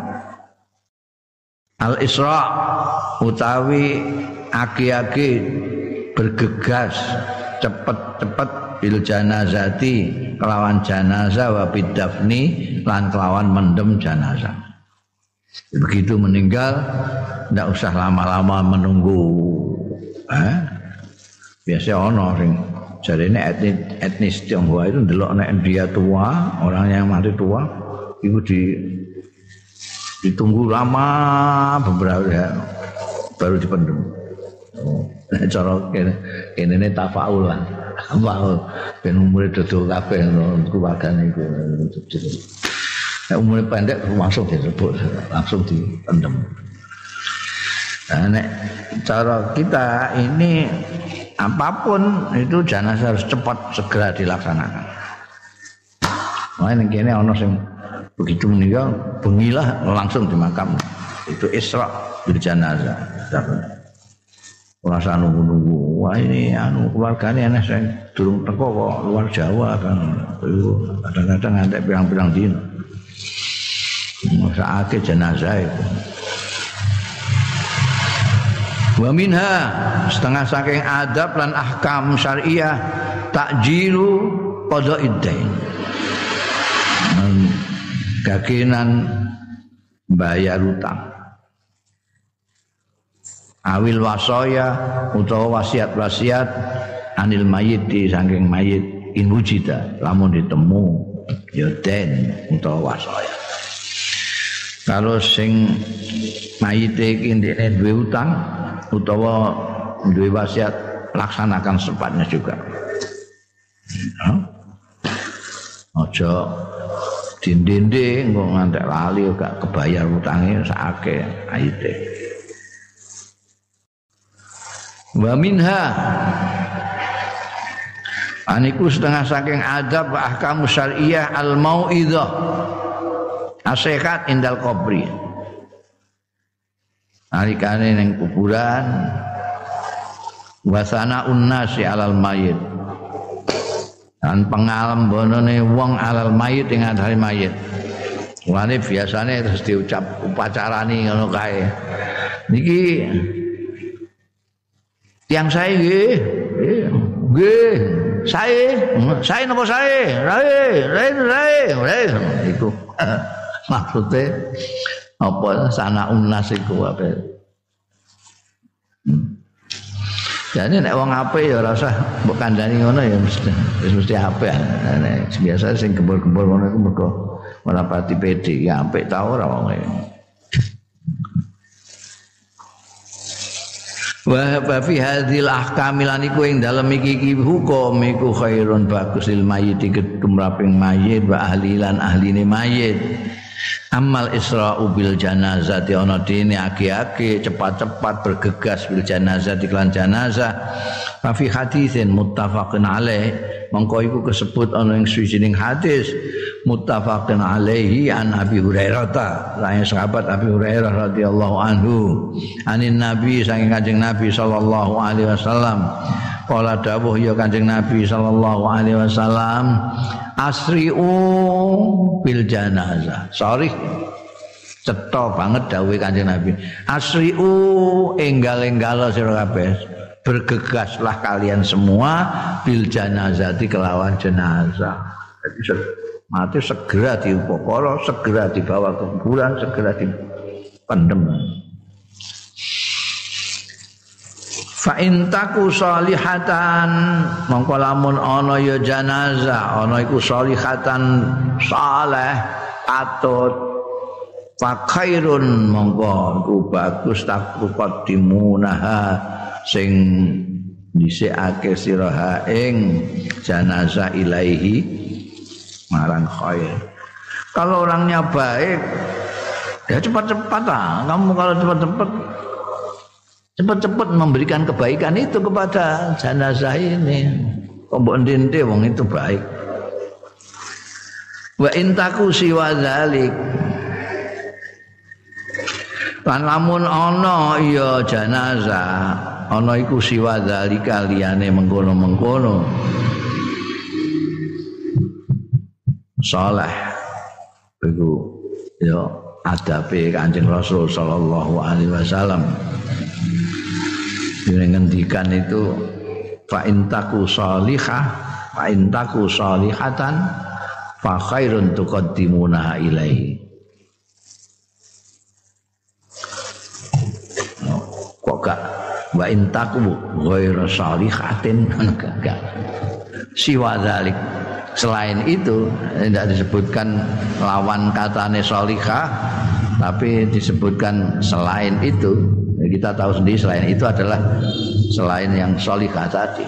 [SPEAKER 1] al isra utawi aki-aki bergegas cepet-cepet bil janazati kelawan janazah wa bidafni lan kelawan mendem janazah. Begitu meninggal ndak usah lama-lama menunggu. Eh? Biasa ono sing jarene etnis etnis Tionghoa itu ndelok nek dia tua, orang yang mati tua itu di ditunggu lama beberapa ya, baru dipendem. Oh, nek cara kene kene tafaul lah. Tafaul ben umure dodol kabeh keluargane iku. Nek umure pendek langsung direbut, langsung dipendem. Nah, nek cara kita ini apapun itu jenazah harus cepat segera dilaksanakan. Wah ini kene ana sing begitu meninggal bengilah langsung dimakam. Itu isra bil janazah. Ora usah nunggu-nunggu. Wah ini anu keluargane ana sing durung teko kok luar Jawa kan. Kadang-kadang ngantek pirang-pirang dino. Masake jenazah itu. Wa minha setengah saking adab lan ahkam syariah takjilu qada'id dain. Gagenan bayar utang. Awil wasaya utawa wasiat-wasiat anil mayit di saking mayit in wujida lamun ditemu ya den utawa wasaya. Kalau sing mayite iki ndekne duwe utang utawa duwe wasiat laksanakan secepatnya juga. Aja dindinde engko ngantek lali gak kebayar utange sakake ayite. Wa minha aniku setengah saking adab wa ahkamu syar'iyyah al mau'izah nasihat indal qabri. Alikane ning kuburan wa sana'un nasi alal mayit. Dan pengalambonane wong alal mayit ing atase mayit. Mulane biasane terus diucap upacarani ngono kae. Niki yang saya nggih, nggih, saya, saya napa saya? Rae, rae, rae, rae iku. Maksudnya apa sana unas iku apa? Jadi nek wong apik ya ora usah mbok kandhani ngono ya mesti wis mesti apik. Nek biasa sing gembur-gembur ngono iku mergo ora pati pede, ya apik ta ora wong e. Wa fi hadzal ahkam lan iku ing dalem iki hukum iku khairun bagus lil mayyit ketumraping mayit wa ahli lan ahline mayit. Amal isra'u bil janazah ana dene aki-aki cepat-cepat bergegas bil janazah iklan janazah fa fi hadisin muttafaqun alaih mongko iku kesebut ana ing suwijining hadis muttafaqun alaihi an Abi Hurairah ta lain sahabat Abi Hurairah radhiyallahu anhu anin nabi saking Kanjeng Nabi sallallahu alaihi wasallam qala dawuh ya Kanjeng Nabi sallallahu alaihi wasallam asri'u bil janazah. Sorry. Cetha banget dawuhe Kanjeng Nabi. Asri'u enggal-enggala sira kabeh. Bergegaslah kalian semua bil janazati kelawan jenazah. Jadi mati segera diupakara, segera dibawa ke kuburan, segera dipendem. Fa in taku salihatan mongko lamun ana ya janazah ana iku salihatan saleh patut fa khairun mongko iku bagus takuqaddimunaha sing dhisikake sira ing janazah ilaihi marang khair. Kalau orangnya baik ya cepat-cepat lah kamu kalau cepat-cepat cepat-cepat memberikan kebaikan itu kepada jenazah ini. Mbok ndente wong itu baik. Wa intaku siwa dzalik. Lan lamun ana ya jenazah, ana iku siwa dzalika liyane mengkono-mengkono. Saleh. Iku ya adabe Kanjeng Rasul sallallahu alaihi wasallam. Ngendikan itu fa intaku salihah fa intaku salihatan fa khairun tuqaddimuna ilaihi. Kok gak wa intaku ghairu salihatin enggak. Siwa dzalik selain itu tidak disebutkan lawan katane salihah tapi disebutkan selain itu. Kita tahu sendiri selain itu adalah selain yang sholihah tadi.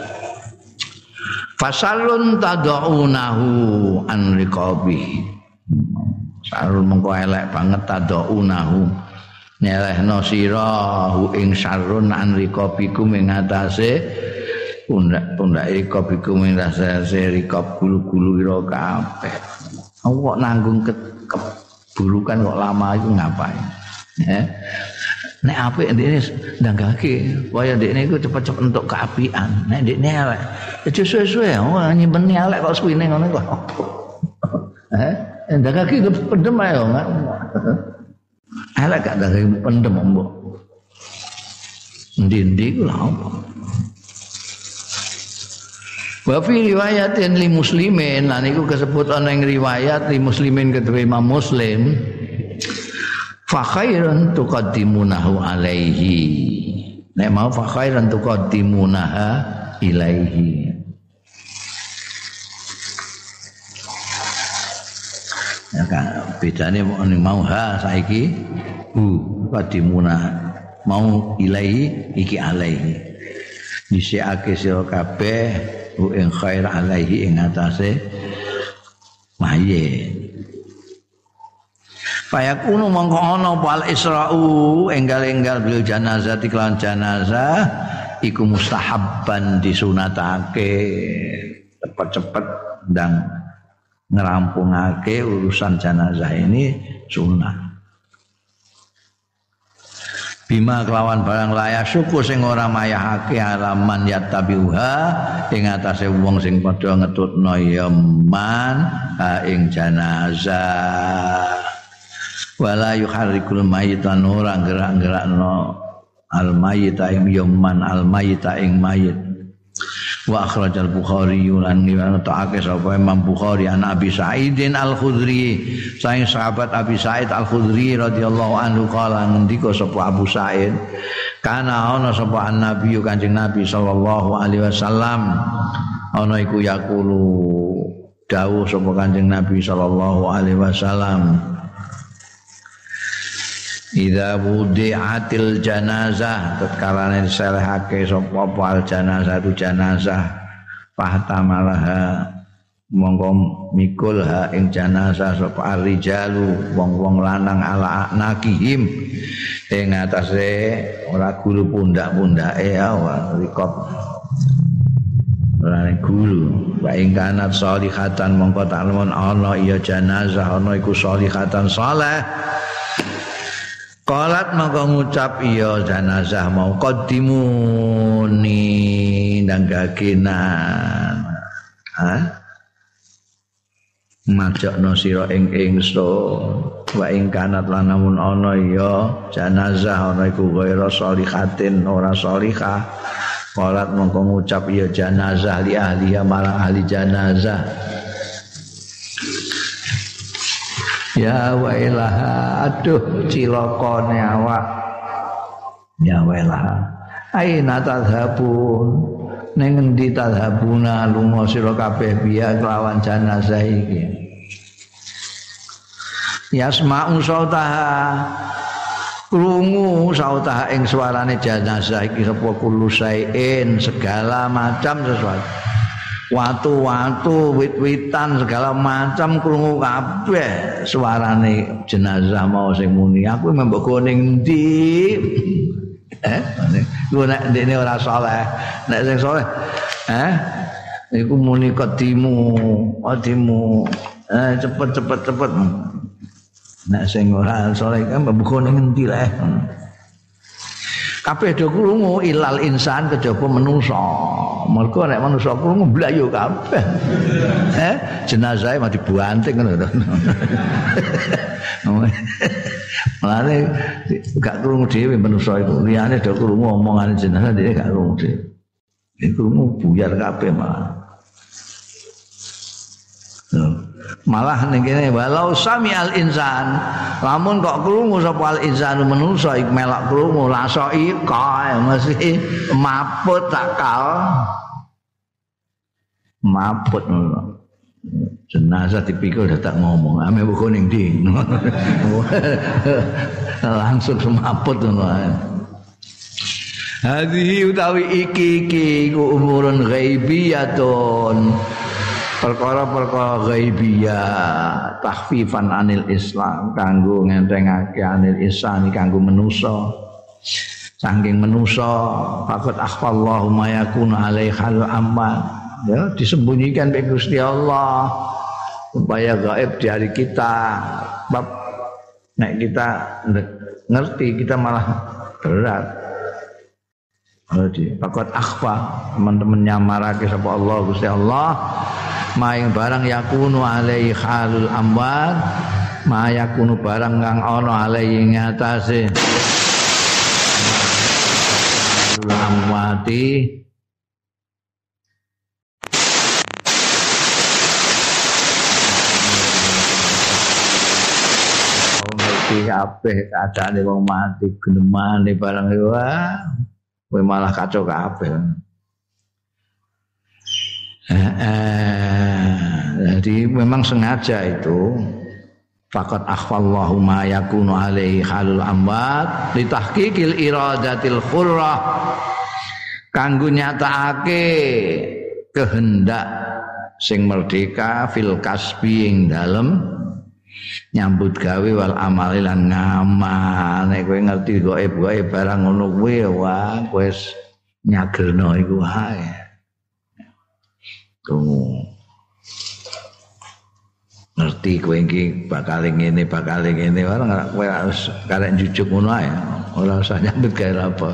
[SPEAKER 1] Fasalun tad'unahu an riqabi. Sarul mengko elek banget tad'unahu. Nyelehno sira hu ing sarun an riqabikum ing atase pundak-pundak riqabikum ing atase riqab gulu-gulu ira kabeh. Kok nanggung keburukan kok lama itu ngapain? Ya. Nek apik ndekne ndanggake, kaya ndekne iku cepet-cepet entuk keapian. Nek ndekne elek, aja suwe-suwe nyimpen elek kok suwine ngono kok. Eh, ndanggake pendem ae kok. Elek gak ndanggake pendem mbok. Ndi-ndi ku lha apa? Wa fi riwayatin li muslimin lan iku kasebut ana ing riwayat li muslimin kedue Imam Muslim fa khairan tuqaddimunahu alaihi nek mau fa khairan tuqaddimunaha ilaihi ya kan bedane mau ha saiki hu qadimuna mau ilaihi iki alaihi disiake sira kabeh hu ing khair alaihi ing atase mayit fayakunu mongko ana wal isra'u enggal-enggal bil janazah iklan janazah iku mustahabban disunatake cepet-cepet ndang ngerampungake urusan janazah ini sunnah bima kelawan barang layak syukur sing ora mayahake alaman yattabiuha ing atase wong sing padha ngetutno ya man ha ing janazah wala yuharrikul mayyitan ora gerak-gerakno al mayyita ing ya man al mayyita ing mayit wa akhrajal Bukhari lan ngriwayatake sapa Imam Bukhari an Abi Sa'idin Al-Khudri saking sahabat Abi Sa'id Al-Khudri radhiyallahu anhu kala ngendika sapa Abu Sa'id kana ana sapa Nabi Kanjeng Nabi sallallahu alaihi wasallam ana iku yaqulu dawuh sapa Kanjeng Nabi sallallahu alaihi wasallam idza wudi'atil janazah tatkala diselehake sapa al janazah tu janazah fahtamalaha monggo mikul ha ing janazah sapa rijalu wong-wong lanang ala nakihim ing atase ora gulu pundak-pundake ya rikop ora gulu wa ing kanat sholihatan monggo taklemon ana iya janazah ana iku sholihatan saleh qalat maka ngucap iya janazah mau qaddimuni ndang gagenan ha majakno sira ing ingsun wa ing kanat lan namun ana iya janazah ana iku ghaira sholihatin ora sholihah qalat maka ngucap iya janazah li ahliya marang ahli janazah ya wailaha aduh cilokone awak ya wailaha aina tadhabun ning endi tadhabuna lunga sira kabeh biya kelawan janazah iki yasma'u sautaha krungu sautaha ing suarane janazah iki sapa kullu sain segala macam sesuatu watu-watu, wit-witan segala macam krungu kabeh suarane jenazah mau sing muni aku mbok go ning ndi eh lu nek ndekne ora saleh nek sing saleh eh iku muni kedimu kedimu eh cepet cepet cepet nek sing ora saleh kan mbok go ning ndi leh kabeh do krungu ilal insan kejaba manusa mergo nek manusa krungu blayu kabeh eh jenazah mati dibanting ngono Mulane gak krungu dhewe manusa iku liyane do krungu omongane jenazah dhewe gak krungu dhewe iku krungu buyar kabeh malah malah ning kene walau sami al insan lamun kok krungu sapa al insanu manusa iku melok krungu laso ika mesti maput takal maput jenazah dipikul dadak ngomong ame buku ning ndi langsung semaput ngono hadhihi utawi iki iki ku umurun ghaibiyatun perkara-perkara ghaibiyah takhfifan anil Islam kanggo ngentengake anil Islam kanggo manusa saking manusa faqad akhfallahu ma yakunu alaihal amma ya disembunyikan oleh Gusti Allah supaya gaib di hari kita bab nek kita ngerti kita malah berat jadi faqad akhfa teman-teman nyamarake sapa Allah Gusti Allah maing barang yakunu alaihi halul amwat ma yakunu barang kang ana alaihi ngatasé amwati ngerti kabeh keadaane wong mati, genemane barang wah, kowe malah kacau kabeh. Eh, eh, jadi memang sengaja itu faqad akhfallahu ma yakunu alaihi halul amwat li tahqiqil iradatil khurrah kanggo nyatakake kehendak sing merdeka fil kasbi ing dalem nyambut gawe wal amali lan ngamal. Nek kowe ngerti gaib-gaib barang ngono kuwi wah kowe wis nyagerno iku wae. Tuh. Ngerti kowe iki bakal ngene bakal ngene ora kowe harus karek jujuk ngono ae. Ora usah nyambut gawe apa.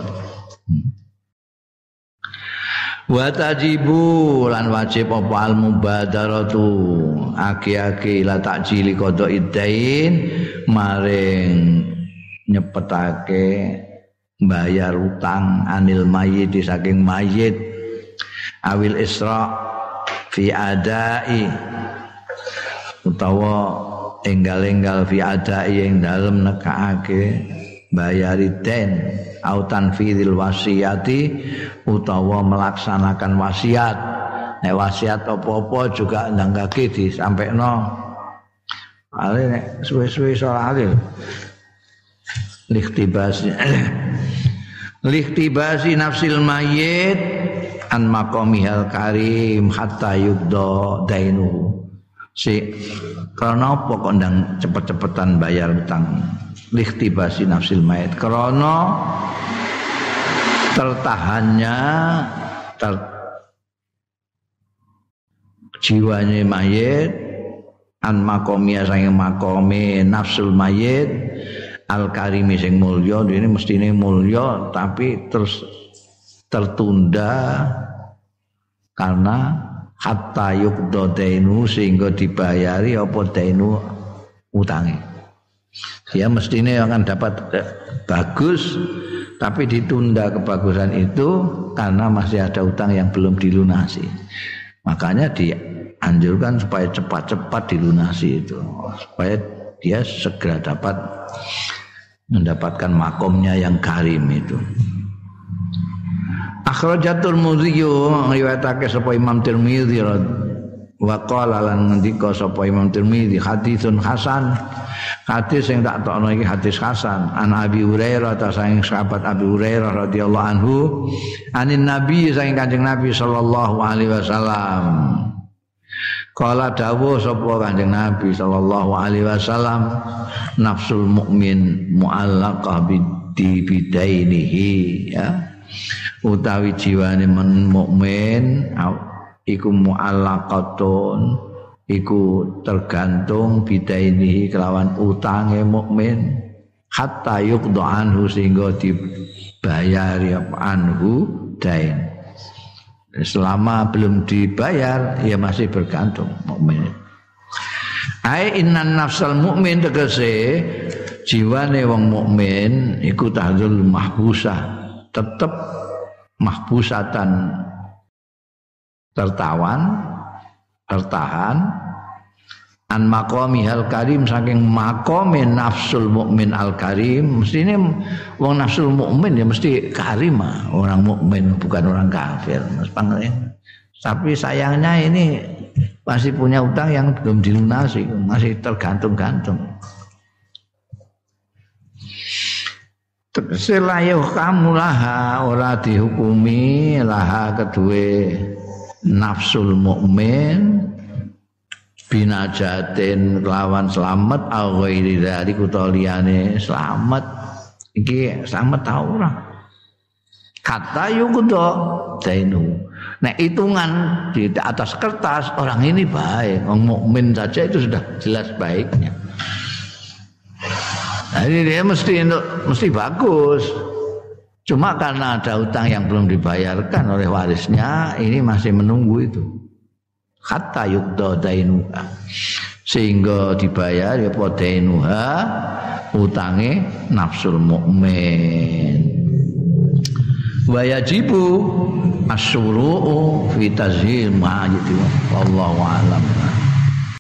[SPEAKER 1] Wa tajibu lan wajib apa al mubadaratu aki-aki la takjili qada iddain maring nyepetake bayar utang anil mayit saking mayit awil isra fi adai utawa enggal-enggal fi adai ing dalem nekake bayari den au tanfidil wasiyati utawa melaksanakan wasiat. Nek wasiat apa-apa juga ndangake disampaikno. Ale nek suwe-suwe saleh lihtibasi lihtibasi nafsil mayyit an maqamihal karim hatta yudda dainuhu. Si karena apa kok ndang cepet-cepetan bayar utang? Lihtibasi nafsil mayit karena tertahannya ter, jiwanya mayit an makomia sang makome nafsul mayit al karimi sing mulya ini mestine mulya tapi terus tertunda karena hatta yuqda dainu sehingga dibayari apa dainu utange. Dia mestinya akan dapat bagus tapi ditunda kebagusan itu karena masih ada utang yang belum dilunasi. Makanya dianjurkan supaya cepat-cepat dilunasi itu supaya dia segera dapat mendapatkan makomnya yang karim itu. Akhrajatul Tirmidzi riwayatake sapa Imam Tirmidzi wa qala lan ngendika sapa Imam Tirmidzi haditsun hasan. Hadis yang tak tokno iki hadis hasan an Abi Hurairah ta saking sahabat Abi Hurairah radhiyallahu anhu anin Nabi saking Kanjeng Nabi sallallahu alaihi wasallam. Kala dawuh sapa Kanjeng Nabi sallallahu alaihi wasallam nafsul mukmin muallaqah bidi bidainihi ya utawi jiwane men mukmin iku muallaqatun iku tergantung bidainihi kelawan utange mukmin hatta yuqda anhu sehingga dibayari anhu dain. Selama belum dibayar ya masih bergantung mukmin. Ai innan nafsal mukmin tegese jiwane wong mukmin iku tahdzul mahbusah tetep mahbusatan tertawan tertahan an maqami al karim saking maqame nafsul mukmin al karim mestine wong nafsul mukmin ya mesti karim orang mukmin bukan orang kafir Mas Pangeran. Tapi sayangnya ini masih punya utang yang belum dilunasi, masih tergantung-gantung. Selayuh kamu laha ora dihukumi laha kedue nafsul mukmin binajatin lawan selamat au ghairi dzalik utawa liyane selamat iki selamat ta ora kata yuqda dainu. Nek hitungan di atas kertas orang ini baik, orang mukmin saja itu sudah jelas baiknya. Jadi dia mesti mesti bagus. Cuma karena ada utang yang belum dibayarkan oleh warisnya, ini masih menunggu itu. Hatta yuqda dainuha. Sehingga dibayar ya dainuha utange nafsul mukmin. Wa yajibu asyuru'u fi tazhil ma'ajid wallahu a'lam.